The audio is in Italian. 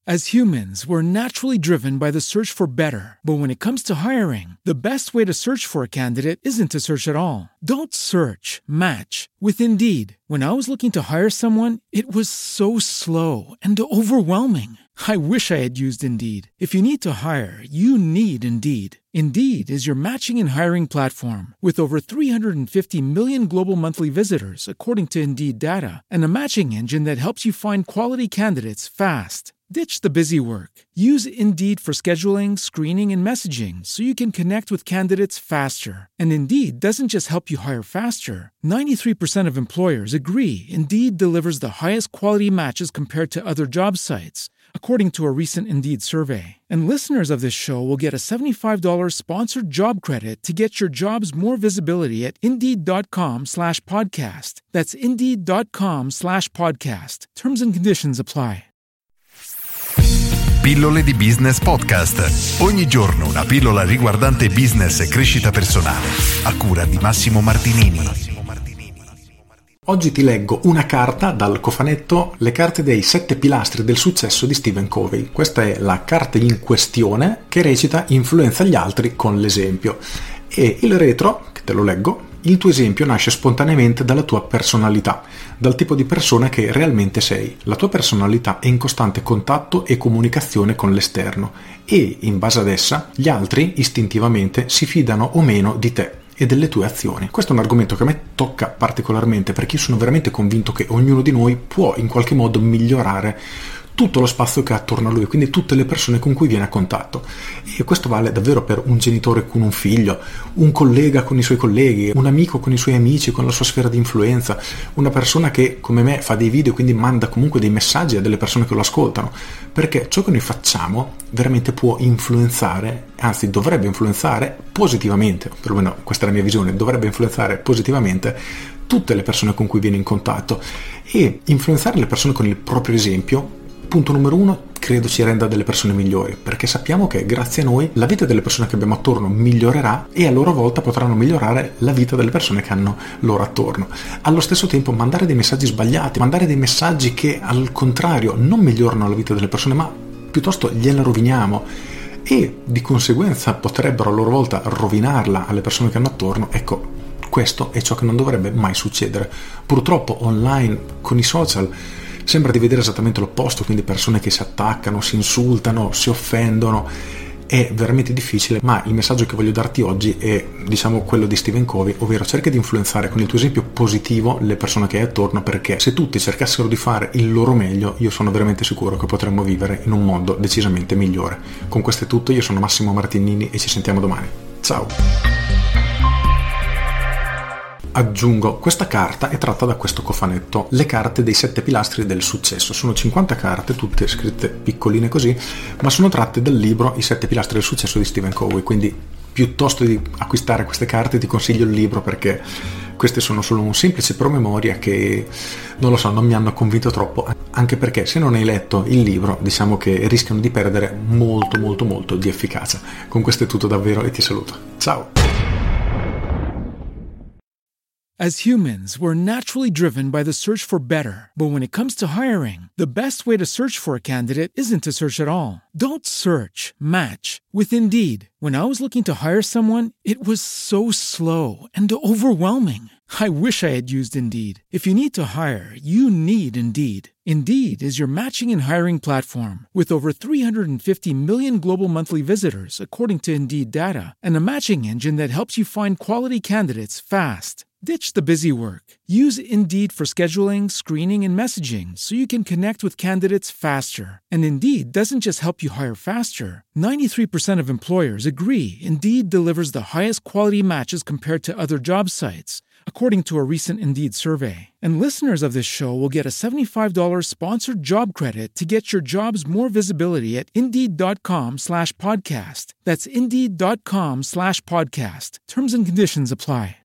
As humans, we're naturally driven by the search for better. But when it comes to hiring, the best way to search for a candidate isn't to search at all. Don't search, match with Indeed. When I was looking to hire someone, it was so slow and overwhelming. I wish I had used Indeed. If you need to hire, you need Indeed. Indeed is your matching and hiring platform with over 350 million global monthly visitors, according to Indeed data, and a matching engine that helps you find quality candidates fast. Ditch the busy work. Use Indeed for scheduling, screening, and messaging so you can connect with candidates faster. And Indeed doesn't just help you hire faster. 93% of employers agree Indeed delivers the highest quality matches compared to other job sites, according to a recent Indeed survey. And listeners of this show will get a $75 sponsored job credit to get your jobs more visibility at Indeed.com/podcast. That's Indeed.com/podcast. Terms and conditions apply. Pillole di Business Podcast. Ogni giorno una pillola riguardante business e crescita personale. A cura di Massimo Martinini. Oggi ti leggo una carta dal cofanetto Le carte dei 7 pilastri del successo di Stephen Covey. Questa è la carta in questione che recita influenza gli altri con l'esempio. E il retro, che te lo leggo, il tuo esempio nasce spontaneamente dalla tua personalità, dal tipo di persona che realmente sei. La tua personalità è in costante contatto e comunicazione con l'esterno e, in base ad essa, gli altri istintivamente si fidano o meno di te e delle tue azioni. Questo è un argomento che a me tocca particolarmente perché io sono veramente convinto che ognuno di noi può in qualche modo migliorare tutto lo spazio che ha attorno a lui, quindi tutte le persone con cui viene a contatto. E questo vale davvero per un genitore con un figlio, un collega con i suoi colleghi, un amico con i suoi amici, con la sua sfera di influenza, una persona che come me fa dei video, quindi manda comunque dei messaggi a delle persone che lo ascoltano, perché ciò che noi facciamo veramente può influenzare, anzi dovrebbe influenzare positivamente, perlomeno questa è la mia visione, dovrebbe influenzare positivamente tutte le persone con cui viene in contatto. E influenzare le persone con il proprio esempio, punto numero 1, credo ci renda delle persone migliori, perché sappiamo che grazie a noi la vita delle persone che abbiamo attorno migliorerà e a loro volta potranno migliorare la vita delle persone che hanno loro attorno. Allo stesso tempo mandare dei messaggi sbagliati, mandare dei messaggi che al contrario non migliorano la vita delle persone ma piuttosto gliela roviniamo e di conseguenza potrebbero a loro volta rovinarla alle persone che hanno attorno, ecco, questo è ciò che non dovrebbe mai succedere. Purtroppo online, con i social, sembra di vedere esattamente l'opposto, quindi persone che si attaccano, si insultano, si offendono. È veramente difficile, ma il messaggio che voglio darti oggi è, diciamo, quello di Stephen Covey, ovvero cerca di influenzare con il tuo esempio positivo le persone che hai attorno, perché se tutti cercassero di fare il loro meglio, io sono veramente sicuro che potremmo vivere in un mondo decisamente migliore. Con questo è tutto, io sono Massimo Martinini e ci sentiamo domani. Ciao! Aggiungo, questa carta è tratta da questo cofanetto, Le carte dei 7 pilastri del successo. Sono 50 carte, tutte scritte piccoline così, ma sono tratte dal libro I 7 pilastri del successo di Stephen Covey, quindi piuttosto di acquistare queste carte ti consiglio il libro, perché queste sono solo un semplice promemoria che, non lo so, non mi hanno convinto troppo, anche perché se non hai letto il libro diciamo che rischiano di perdere molto di efficacia. Con questo è tutto davvero e ti saluto. Ciao! As humans, we're naturally driven by the search for better. But when it comes to hiring, the best way to search for a candidate isn't to search at all. Don't search, match with Indeed. When I was looking to hire someone, it was so slow and overwhelming. I wish I had used Indeed. If you need to hire, you need Indeed. Indeed is your matching and hiring platform with over 350 million global monthly visitors, according to Indeed data, and a matching engine that helps you find quality candidates fast. Ditch the busy work. Use Indeed for scheduling, screening, and messaging so you can connect with candidates faster. And Indeed doesn't just help you hire faster. 93% of employers agree Indeed delivers the highest quality matches compared to other job sites, according to a recent Indeed survey. And listeners of this show will get a $75 sponsored job credit to get your jobs more visibility at Indeed.com/podcast. That's Indeed.com/podcast. Terms and conditions apply.